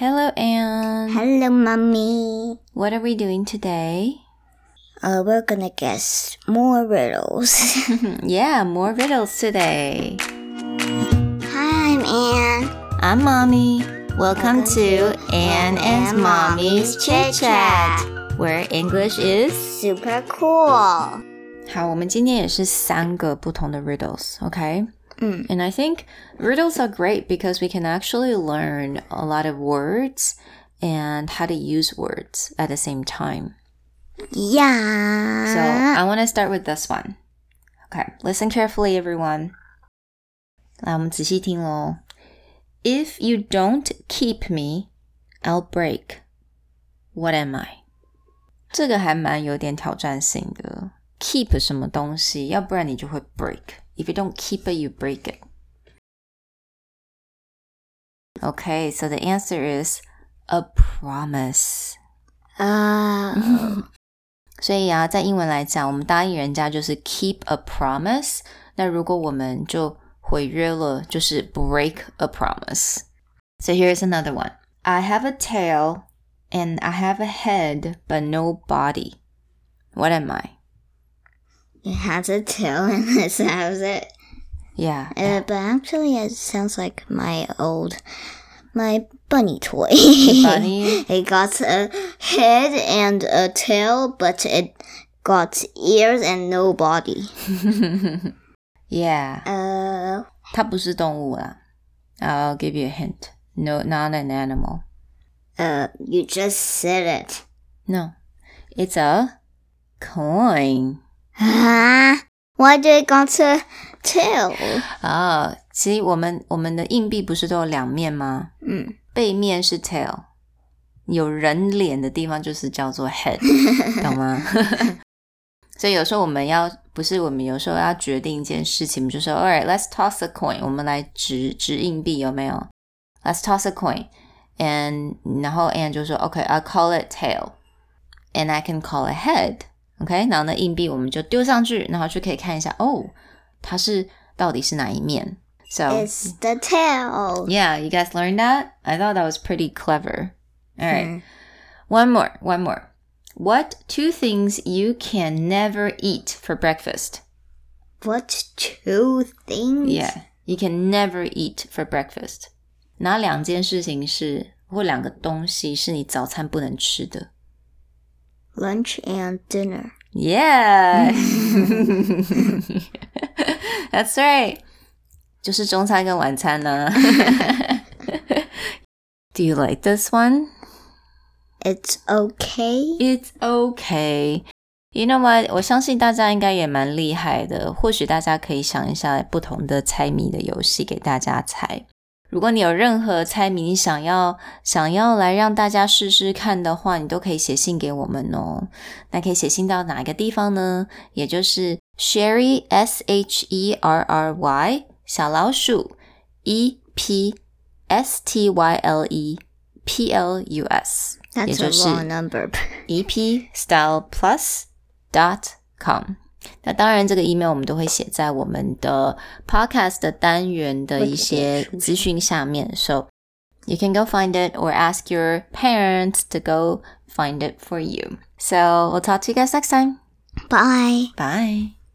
Hello, Anne. Hello, Mommy. What are we doing today? We're gonna guess more riddles. Yeah, more riddles today. Hi, I'm Anne. I'm Mommy. Welcome to Anne and Mommy's Chit Chat, where English is super cool. 好，我们今天也是3个不同的 riddles, okay? And I think riddles are great because we can actually learn a lot of words and how to use words at the same time. Yeah. So I want to start with this one. Okay, listen carefully, everyone. 来，我们仔细听咯。If you don't keep me, I'll break. What am I? 这个还蛮有点挑战性的。Keep 什么东西，要不然你就会 break.If you don't keep it, you break it. Okay, so the answer is a promise. 所以啊，在英文来讲，我们答应人家就是 keep a promise. 那如果我们就毁约了，就是 break a promise. So here's another one. I have a tail and I have a head, but no body. What am I? It has a tail and it has it. Yeah. But actually it sounds like my bunny toy. Bunny? It got a head and a tail, but it got ears and no body. Yeah. 它不是动物啦。I'll give you a hint. No, not an animal. You just said it. No. It's a coin. Why did it got a tail? 其实我们的硬币不是都有2面吗？背面是 tail， 有人脸的地方就是叫做 head， 懂吗？所以有时候我们有时候要决定一件事情，我们就说 Alright, let's toss a coin. 我们来掷硬币有没有？ Let's toss a coin. And 然后 Anne 就说 Okay, I'll call it tail. And I can call it head.OK， 然后呢，硬币我们就丢上去，然后就可以看一下，它到底是哪一面。So it's the tail. Yeah, you guys learned that? I thought that was pretty clever. All right, one more. What 2 things you can never eat for breakfast? What 2 things? Yeah, you can never eat for breakfast. 哪2件事情或2个东西是你早餐不能吃的 ？Lunch and dinner. Yeah. That's right. 就是中餐跟晚餐呢。Do you like this one? It's okay. It's okay. You know what? 我相信大家应该也蛮厉害的。或许大家可以想一下不同的猜谜的游戏给大家猜。如果你有任何猜谜你想要来让大家试试看的话，你都可以写信给我们哦。那可以写信到哪一个地方呢？也就是 Sherry SHERRY 小老鼠 EPSTYLEPLUS That's 也就是 a long number. epstyleplus.com。那当然这个 email 我们都会写在我们的 podcast 的单元的一些资讯下面 So you can go find it or ask your parents to go find it for you. So we'll talk to you guys next time. Bye. Bye.